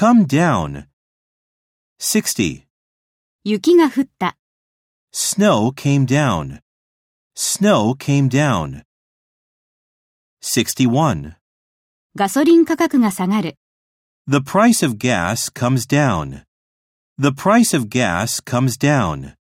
come down. 60. 雪が降った。 Snow came down. Snow came down. 61. ガソリン価格が下がる。 The price of gas comes down. The price of gas comes down.